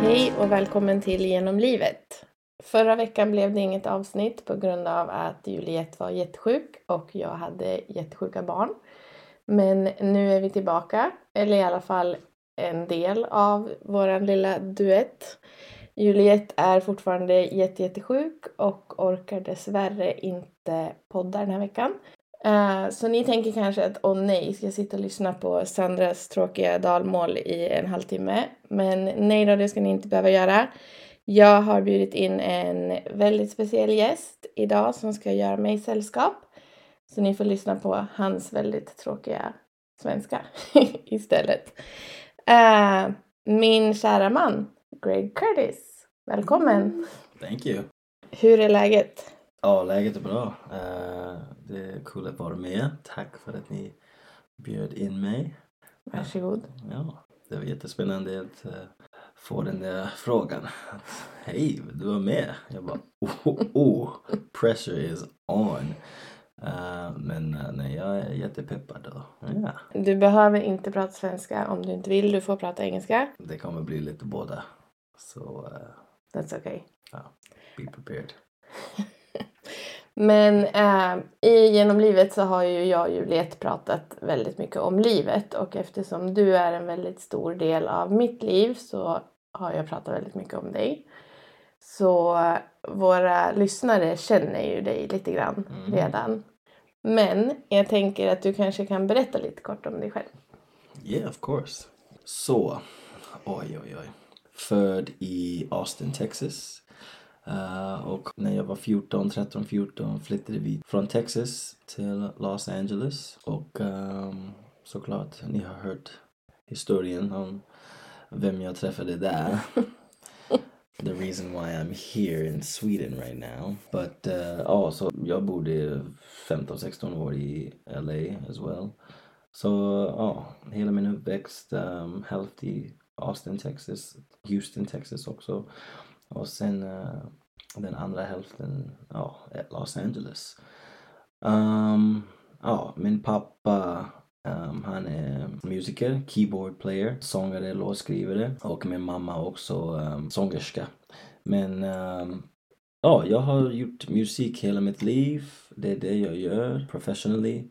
Hej och välkommen till Genom livet. Förra veckan blev det inget avsnitt på grund av att Juliette var jättesjuk och jag hade jättesjuka barn. Men nu är vi tillbaka, eller i alla fall en del av våran lilla duett. Juliette är fortfarande jättesjuk och orkar dessvärre inte podda den här veckan. Så ni tänker kanske att nej, ska jag sitta och lyssna på Sandras tråkiga dalmål i en halvtimme. Men nej då, det ska ni inte behöva göra. Jag har bjudit in en väldigt speciell gäst idag som ska göra mig sällskap. Så ni får lyssna på hans väldigt tråkiga svenska istället. Min kära man, Greg Curtis. Välkommen. Thank you. Hur är läget? Ja, läget är bra. Det är kul att vara med. Tack för att ni bjöd in mig. Varsågod. Ja, det var jättespännande att få den där frågan. Hej, du var med. Jag bara, pressure is on. Men nej, jag är jättepeppad då. Ja. Du behöver inte prata svenska om du inte vill. Du får prata engelska. Det kommer bli lite båda. Så... That's okay. Ja, be prepared. Men genom livet så har ju jag och Juliette pratat väldigt mycket om livet. Och eftersom du är en väldigt stor del av mitt liv så har jag pratat väldigt mycket om dig. Så våra lyssnare känner ju dig lite grann redan. Men jag tänker att du kanske kan berätta lite kort om dig själv. Yeah, of course. Så, oj. Född i Austin, Texas. Och när jag var 13-14 flyttade vi från Texas till Los Angeles. Och såklart, ni har hört historien om vem jag träffade där. The reason why I'm here in Sweden right now. But så jag bodde 15-16 år i LA as well. Så hela min uppväxt, hälften i Austin, Texas, Houston, Texas också. Och sen den andra hälften, Los Angeles. Min pappa, han är musiker, keyboard player, sångare, låtskrivare. Och min mamma också sångerska. Men jag har gjort musik hela mitt liv. Det är det jag gör professionally.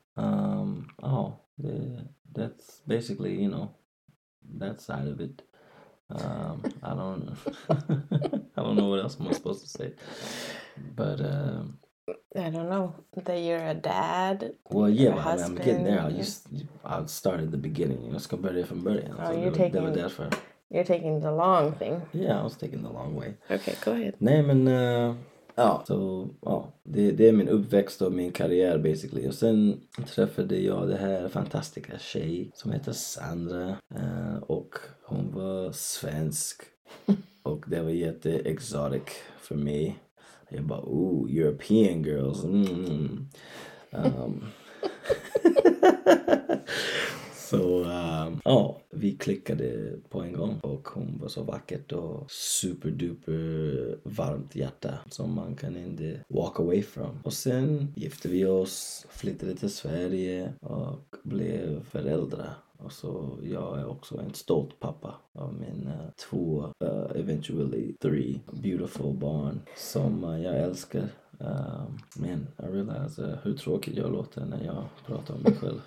That's basically, that side of it. I don't know what else I'm supposed to say, but I don't know that you're a dad. Well, yeah, I'm getting there. I'll start at the beginning. Jag ska börja från början. Det var därför. You're taking the long thing. Yeah, I was taking the long way. Okay, go ahead. Nej, men det är min uppväxt och min karriär basically. Och sen träffade jag det här fantastiska tjej som heter Sandra. Och hon var svensk. Och det var jätte-exotic för mig. Jag bara, European girls. Vi klickade på en gång och hon var så vackert och superduper varmt hjärta som man kan inte walk away from. Och sen gifte vi oss, flyttade till Sverige och blev föräldrar. Och så jag är också en stolt pappa av mina 2, eventually 3 beautiful barn som jag älskar. Men I realize hur tråkigt jag låter när jag pratar om mig själv.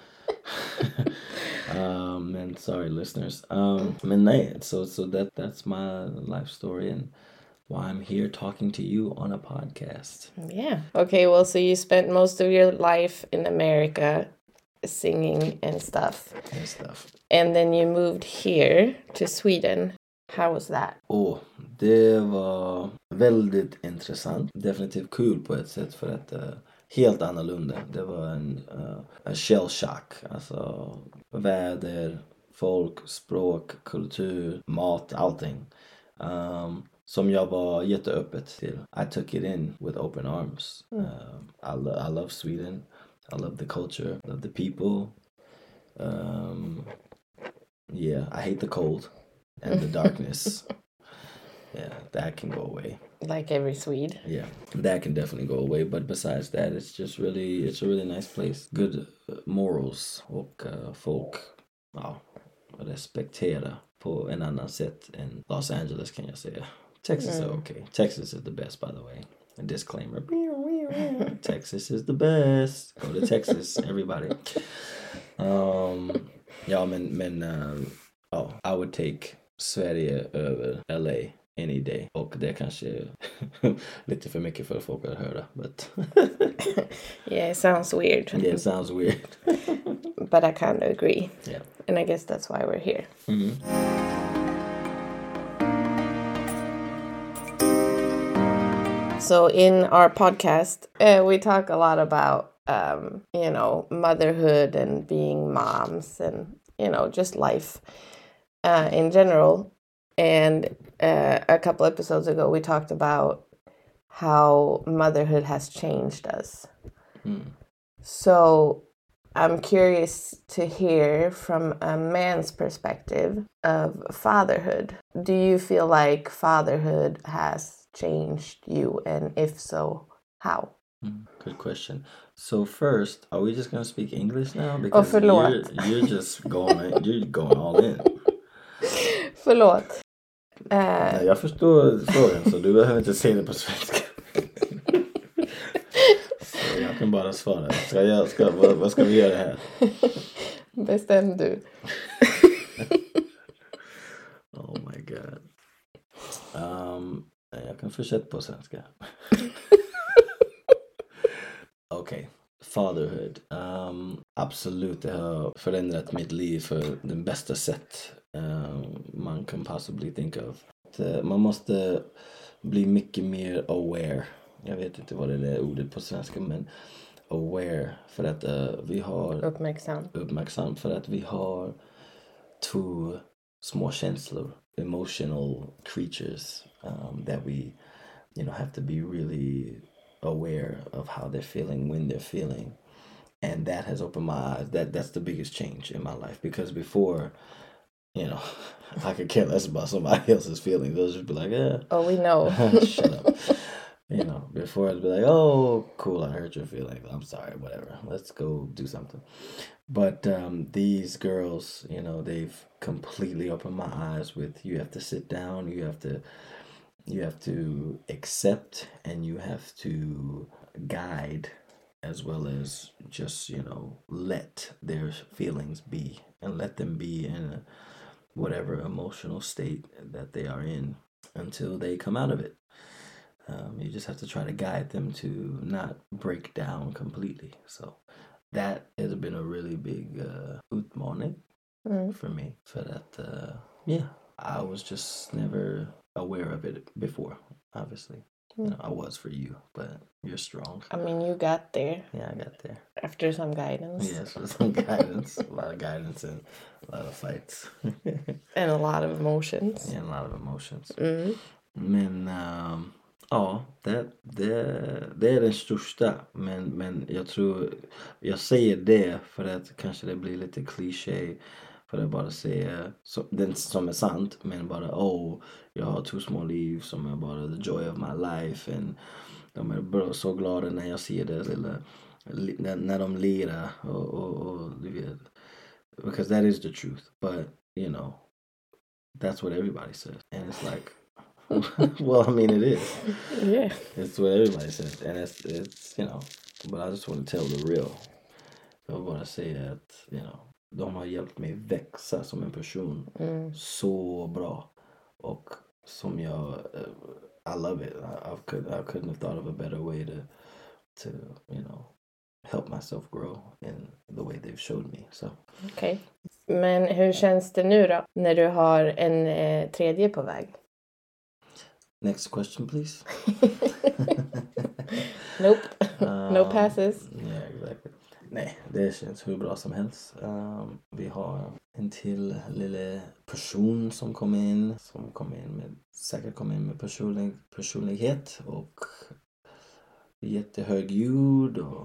And sorry listeners. Men nej, so that's my life story and why I'm here talking to you on a podcast. Yeah. Okay, well, so you spent most of your life in America singing and stuff. And then you moved here to Sweden. How was that? Det var väldigt intressant. Definitivt kul på ett sätt för att helt annorlunda. Det var en shell shock. Alltså väder, folk, språk, kultur, mat, allting. Som jag var jätteöppet till. I took it in with open arms. I love Sweden. I love the culture. I love the people. I hate the cold and the darkness. Yeah, that can go away. Like every Swede. Yeah, that can definitely go away. But besides that, it's a really nice place. Good morals och folk. respektera på en annan sätt än Los Angeles kan jag säga. Texas är okej. Texas is the best by the way. A disclaimer. Texas is the best. Go to Texas, everybody. Ja, men I would take Sverige över LA any day. Och det kanske lite för mycket för folk att höra. But Yeah, it sounds weird. yeah, it sounds weird. But I kind of agree. Yeah. And I guess that's why we're here. Mm-hmm. So in our podcast, we talk a lot about, motherhood and being moms and, just life in general. And a couple episodes ago, we talked about how motherhood has changed us. So I'm curious to hear from a man's perspective of fatherhood. Do you feel like fatherhood has changed you, and if so, how? Good question. So first, are we just gonna speak English now? Because you're just going all in. Förlåt. Nej, jag förstår frågan så du behöver inte säga det på svenska. Så jag kan bara svara. Vad ska vi göra här? Bestäm du. Oh my god. Jag kan fortsätta på svenska. Okej. Fatherhood. Absolut, det har förändrat mitt liv för den bästa sätt man kan possibly think of. Man måste bli mycket mer aware. Jag vet inte vad det är ordet på svenska, men aware för att vi har uppmärksam för att vi har två små känslor, emotional creatures that we have to be really aware of how they're feeling when they're feeling. And that has opened my eyes. That's the biggest change in my life, because before, I could care less about somebody else's feelings. They'll just be like, yeah. Oh, we know. Shut up. Before I'd be like, oh, cool, I hurt your feelings. I'm sorry, whatever. Let's go do something. But these girls, they've completely opened my eyes with, you have to sit down, you have to accept, and you have to guide, as well as just, let their feelings be, and let them be in whatever emotional state that they are in until they come out of it. You just have to try to guide them to not break down completely. So that has been a really big utmaning for me. For that, I was just never aware of it before, obviously. I was for you, but you're strong. I mean, you got there. Yeah, I got there. After some guidance. Yes, with some guidance. A lot of guidance and a lot of fights. And a lot of emotions. Yeah, a lot of emotions. Men, det är den största. Men jag tror, jag säger det för att kanske det blir lite kliché. För att bara säga den som är sant, men bara jag har två små liv som är bara the joy of my life, and de är bara så glada när jag ser det lilla, när de lirar och du vet, because that is the truth, but that's what everybody says, and it's like well, I mean, it is. Yeah. It's what everybody says, and it's but I just want to tell the real. Jag vill bara säga att de har hjälpt mig växa som en person så bra, och som jag I love it. I couldn't have thought of a better way to help myself grow in the way they've showed me. So. Okej. Men hur känns det nu då när du har en tredje på väg? Next question, please. Nope. No passes. Yeah, exactly. Nej, det känns hur bra som helst. Vi har en till lille person som kom in med personlighet och jättehög ljud och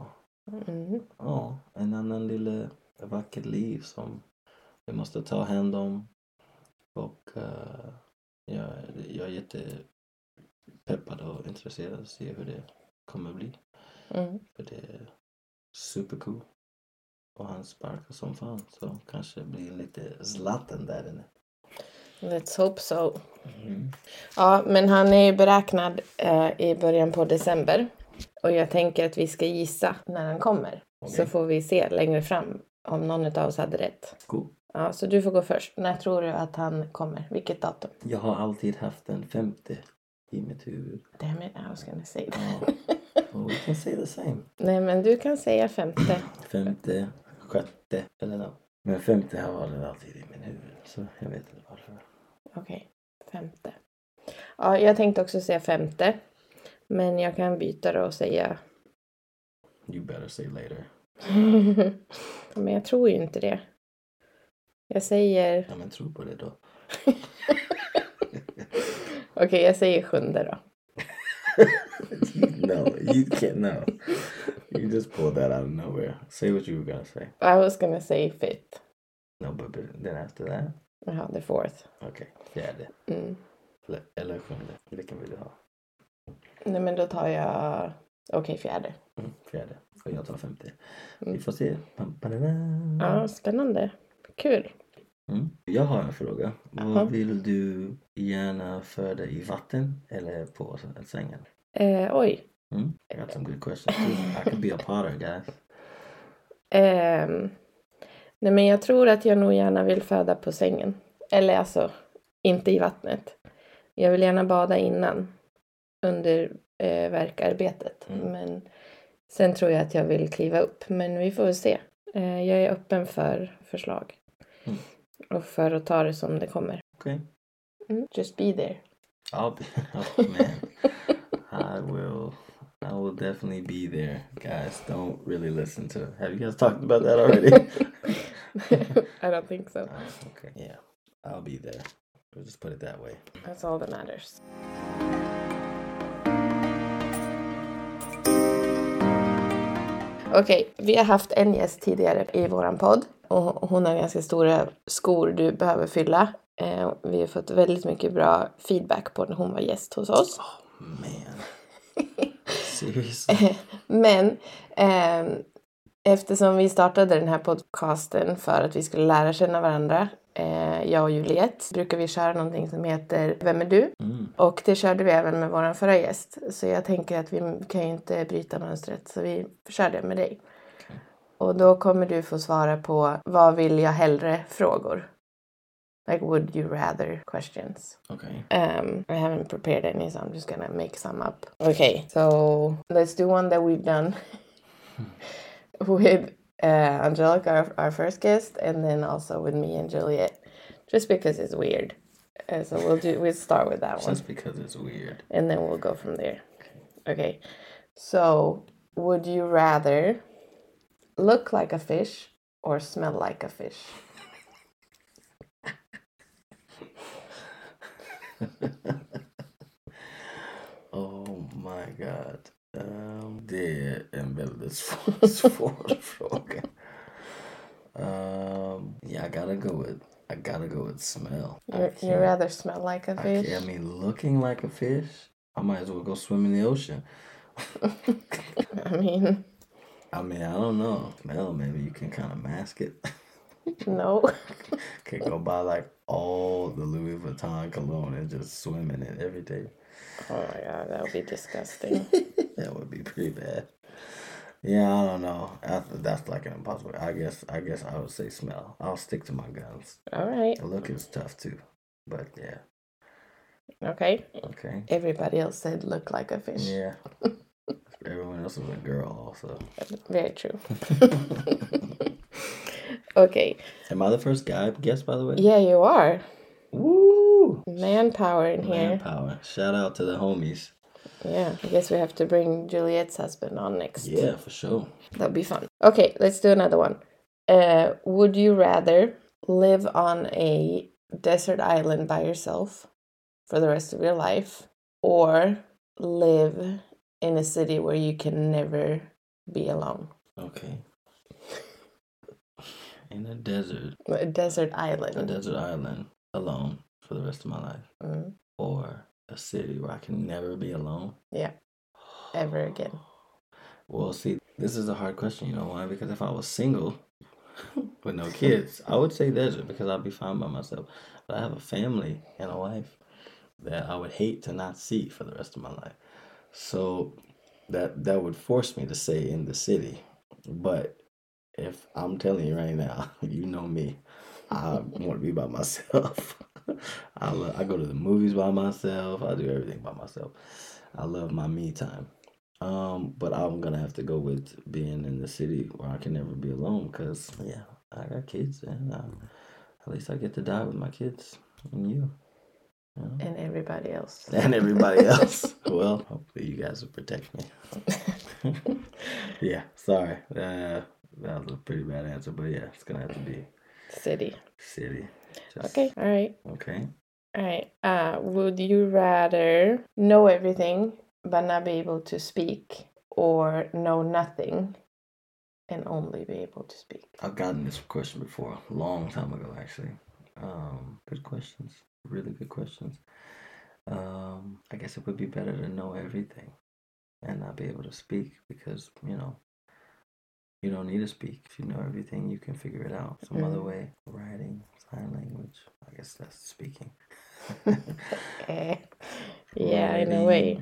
en annan lille vackert liv som vi måste ta hand om, och jag är jättepeppad och intresserad att se hur det kommer bli. För det är super cool. Och han sparkar som fan. Så kanske det blir lite Zlatan där inne. Let's hope so. Ja, men han är ju beräknad i början på december. Och jag tänker att vi ska gissa när han kommer. Okay. Så får vi se längre fram om någon av oss hade rätt. Cool. Ja, så du får gå först. När tror du att han kommer? Vilket datum? Jag har alltid haft en 50 i mitt huvud. Damn it, I was gonna say that. Oh, we can say the same. Nej, men du kan säga 50. 50, 60 eller något. Men 50 har varit alltid i min huvud. Så jag vet inte varför. Okej, 50. Ja, jag tänkte också säga 50. Men jag kan byta då och säga... You better say later. Men jag tror ju inte det. Jag säger... Ja, men tro på det då. Okej, jag säger 7 då. No, you can't. No, you just pulled that out of nowhere. Say what you were gonna say. I was gonna say 5th. No, but then after that. Jaha, the 4th. Okay, 4. Eller 7. Vilken vill du ha? Nej, men då tar jag... Okej, 4. 4. Och jag tar 50. Vi får se. Ja, spännande. Kul. Jag har en fråga. Vad vill du gärna föda i vatten eller på sängen? Oj. I got some good questions too. I could be a potter, guys. Nej, men jag tror att jag nog gärna vill föda på sängen. Eller alltså, inte i vattnet. Jag vill gärna bada innan. Under verkarbetet. Men sen tror jag att jag vill kliva upp. Men vi får väl se. Jag är öppen för förslag. Och för att ta det som det kommer. Okay. Just be there. I'll be, oh man. I will definitely be there. Guys, don't really listen to. Have you guys talked about that already? I don't think so. Okay, yeah. I'll be there. We'll just put it that way. That's all that matters. Okej, vi har haft en gäst tidigare i våran podd. Och hon har ganska stora skor du behöver fylla. Vi har fått väldigt mycket bra feedback på när hon var gäst hos oss. Oh man. Seriously? Men eftersom vi startade den här podcasten för att vi skulle lära känna varandra, jag och Juliette, brukar vi köra någonting som heter Vem är du? Och det körde vi även med våran förra gäst. Så jag tänker att vi kan ju inte bryta mönstret, så vi kör det med dig. Okay. Och då kommer du få svara på vad vill jag hellre frågor. Like would you rather questions. Okay. I haven't prepared any, so I'm just gonna make some up. Okay, so let's do one that we've done with Angelica, our first guest, and then also with me and Juliet, just because it's weird. So we'll start with that one. Just because it's weird. And then we'll go from there. Okay. So, would you rather look like a fish or smell like a fish? Oh my god. Det är en väldigt svår fråga. Yeah, I gotta go with smell. You rather smell like a fish? I mean, looking like a fish, I might as well go swim in the ocean. I mean, I don't know. Smell, maybe you can kind of mask it. No. Can go buy like all the Louis Vuitton cologne and just swim in it every day. Oh my god, that would be disgusting. That would be pretty bad. Yeah, I don't know. That's like an impossible. I guess I would say smell. I'll stick to my guns. All right. The look is tough too, but yeah. Okay. Okay. Everybody else said look like a fish. Yeah. Everyone else was a girl also. Very true. Okay. Am I the first guy guest, by the way? Yeah, you are. Woo! Manpower in here. Manpower. Shout out to the homies. Yeah, I guess we have to bring Juliet's husband on next. Yeah, for sure. That'll be fun. Okay, let's do another one. Would you rather live on a desert island by yourself for the rest of your life or live in a city where you can never be alone? Okay. In a desert. A desert island. A desert island alone for the rest of my life. Or a city where I can never be alone. Yeah. Ever again. Well, see, this is a hard question. You know why? Because if I was single, with no kids. I would say desert because I'd be fine by myself. But I have a family and a wife that I would hate to not see for the rest of my life. So that would force me to stay in the city. But if I'm telling you right now, you know me, I want to be by myself. I go to the movies by myself. I do everything by myself. I love my me time. But I'm gonna have to go with being in the city where I can never be alone because yeah, I got kids and at least I get to die with my kids and you. And everybody else. And everybody else. Well, hopefully you guys will protect me. Yeah, sorry. That was a pretty bad answer, but yeah, it's gonna have to be City. Okay, all right. Okay. All right. Would you rather know everything but not be able to speak, or know nothing and only be able to speak? I've gotten this question before, a long time ago, actually. Good questions. Really good questions. I guess it would be better to know everything and not be able to speak because, you don't need to speak. If you know everything, you can figure it out some other way. Writing, sign language, I guess that's speaking. Yeah, in a way.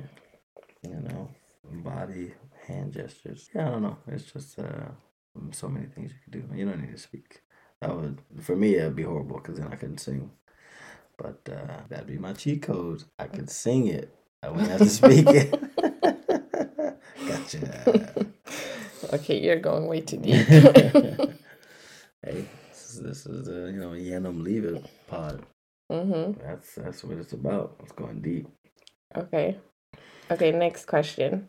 Body, hand gestures. Yeah, I don't know. It's just so many things you could do. You don't need to speak. For me, it'd be horrible because then I couldn't sing. But that'd be my cheat code. I could sing it. I wouldn't have to speak it. Gotcha. Okay, you're going way too deep. Hey, this is Yenum Leave It pod. That's what it's about. It's going deep. Okay, next question.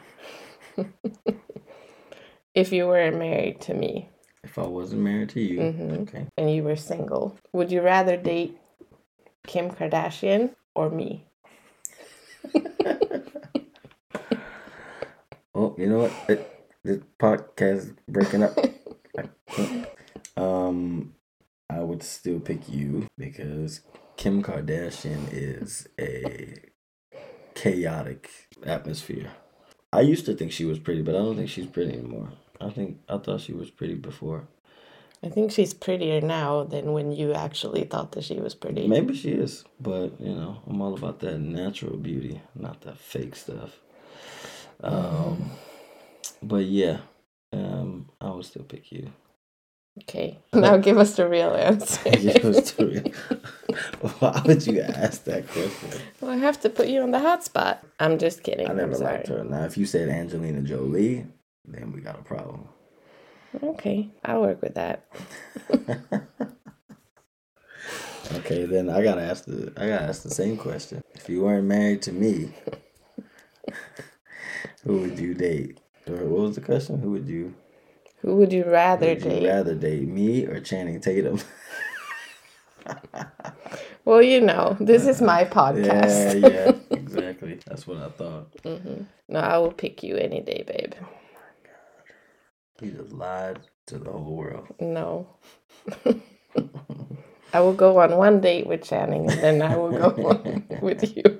If you were married to me. If I wasn't married to you, okay. And you were single, would you rather date Kim Kardashian or me? Oh, you know what? This podcast is breaking up. I would still pick you because Kim Kardashian is a chaotic atmosphere. I used to think she was pretty, but I don't think she's pretty anymore. I thought she was pretty before. I think she's prettier now than when you actually thought that she was pretty. Maybe she is, but I'm all about that natural beauty, not that fake stuff. But yeah, I would still pick you. Okay, now give us the real answer. Why would you ask that question? Well, I have to put you on the hot spot. I'm just kidding. I never liked her. Now, if you said Angelina Jolie, then we got a problem. Okay, I'll work with that. Okay, then I gotta ask the same question. If you weren't married to me, who would you date? Or what was the question? Who would you rather date? Would you rather date me or Channing Tatum? Well, this is my podcast. Yeah, exactly. That's what I thought. No, I will pick you any day, babe. Oh my God. He just lied to the whole world. No. I will go on one date with Channing and then I will go on with you.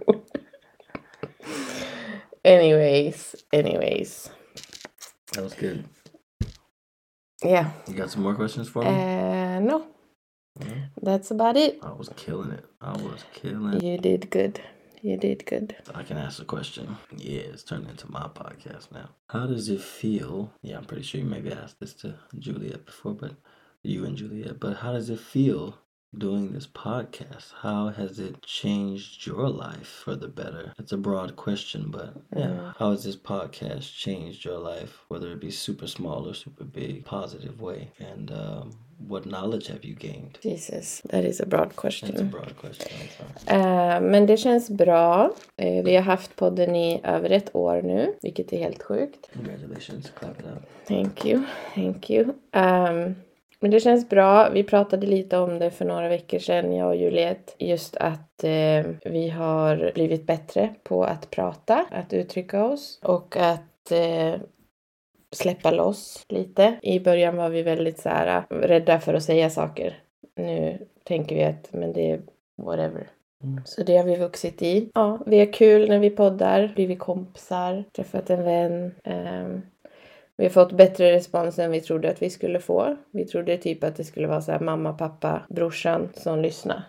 Anyways. That was good. Yeah. You got some more questions for me? No. That's about it. I was killing it. You did good. I can ask a question. Yeah, it's turned into my podcast now. How does it feel? Yeah, I'm pretty sure you maybe asked this to Juliet before, but you and Juliet. But how does it feel doing this podcast? How has it changed your life for the better? It's a broad question, but yeah. How has this podcast changed your life, whether it be super small or super big, positive way? And what knowledge have you gained? Jesus, that is a broad question. That's a broad question. I'm sorry. Men det känns bra. Vi har haft podden i över ett år nu, vilket är helt sjukt. Congratulations, clap it up. Thank you. Men det känns bra. Vi pratade lite om det för några veckor sedan, jag och Juliet. Just att vi har blivit bättre på att prata, att uttrycka oss och att släppa loss lite. I början var vi väldigt så här rädda för att säga saker. Nu tänker vi att men det är whatever. Så det har vi vuxit i. Ja, vi har kul när vi poddar. Blivit kompisar. Träffat en vän. Vi har fått bättre respons än vi trodde att vi skulle få. Vi trodde typ att det skulle vara så här mamma, pappa, brorsan som lyssnar.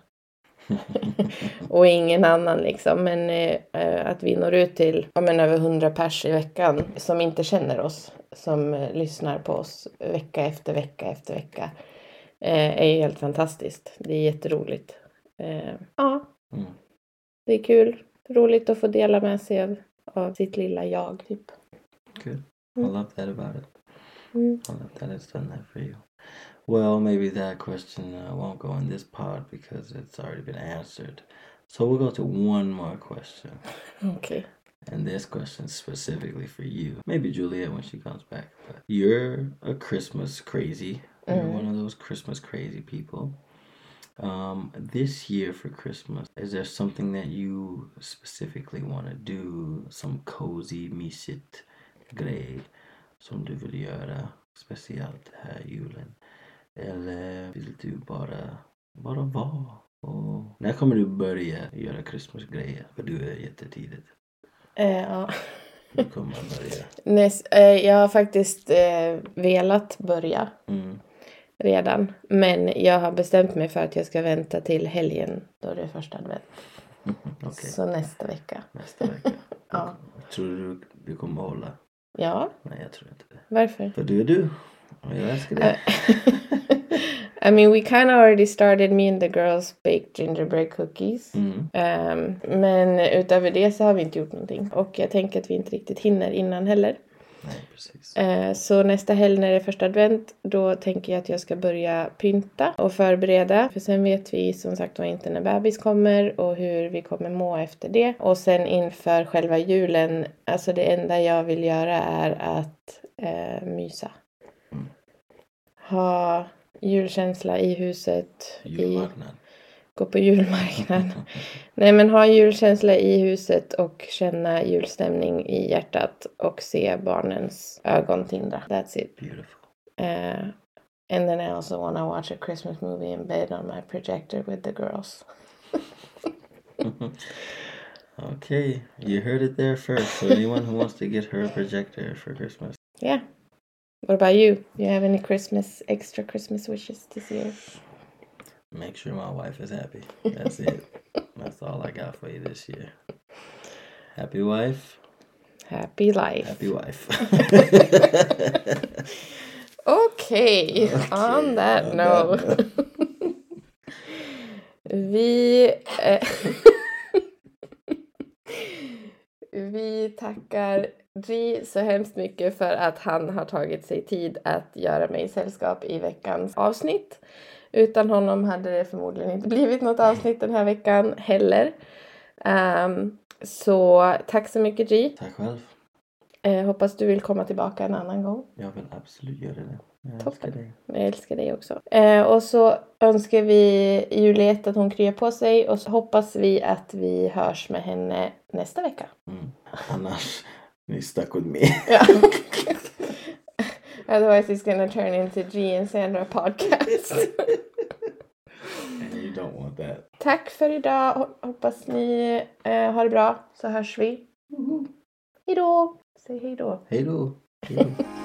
Och ingen annan liksom. Men att vi når ut till över 100 pers i veckan som inte känner oss. Som lyssnar på oss vecka efter vecka efter vecka. Är ju helt fantastiskt. Det är jätteroligt. Ja. Det är kul. Roligt att få dela med sig av sitt lilla jag typ. Good. I love that about it. I love that it's done that for you. Well, maybe that question won't go in this pod because it's already been answered. So we'll go to one more question. Okay. And this question is specifically for you. Maybe Juliet when she comes back. But you're a Christmas crazy. You're one of those Christmas crazy people. This year for Christmas, is there something that you specifically want to do? Some cozy, mysigt grej som du vill göra speciellt här julen? Eller vill du bara vara? Och när kommer du börja göra Christmas-grejer? För du är jättetidigt. Ja. Du kommer börja. Jag har faktiskt velat börja redan. Men jag har bestämt mig för att jag ska vänta till helgen då det är första advent. Okay. Så nästa vecka. Ja. Tror du kommer hålla? Ja. Nej, jag tror inte det. Varför? För du är du. Och jag älskar det. I mean, we kind of already started, me and the girls baked gingerbread cookies. Men utöver det så har vi inte gjort någonting. Och jag tänker att vi inte riktigt hinner innan heller. Nej, precis. Så nästa helg när det är första advent, då tänker jag att jag ska börja pynta och förbereda. För sen vet vi som sagt inte när bebis kommer och hur vi kommer må efter det. Och sen inför själva julen, alltså det enda jag vill göra är att mysa. Ha julkänsla i huset. Gå på julmarknad. Nej, men ha julkänsla i huset och känna julstämning i hjärtat och se barnens ögon tindra. That's it. Beautiful. And then I also want to watch a Christmas movie in bed on my projector with the girls. Okay, you heard it there first. So anyone who wants to get her a projector for Christmas. Yeah. What about you? You have any extra Christmas wishes this year? Make sure my wife is happy. That's it. That's all I got for you this year. Happy wife. Happy life. Happy wife. Okay. On that note. Vi tackar G så hemskt mycket för att han har tagit sig tid att göra mig sällskap i veckans avsnitt. Utan honom hade det förmodligen inte blivit något avsnitt den här veckan heller. Så tack så mycket G. Tack själv. Hoppas du vill komma tillbaka en annan gång. Jag vill absolut göra det. Jag älskar dig också. Och så önskar vi Juliet att hon kryar på sig. Och så hoppas vi att vi hörs med henne nästa vecka. Annars, ni stuck with me. Ja. Otherwise it's gonna turn into G and Sandra podcast. And you don't want that. Tack för idag. Hoppas ni har det bra. Så hörs vi. Hejdå. Säg hejdå. Hejdå. Hejdå.